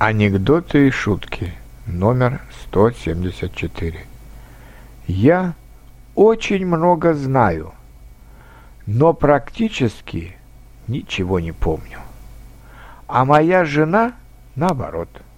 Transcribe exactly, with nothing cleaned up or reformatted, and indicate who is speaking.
Speaker 1: Анекдоты и шутки. Номер сто семьдесят четыре. Я очень много знаю, но практически ничего не помню. А моя жена наоборот.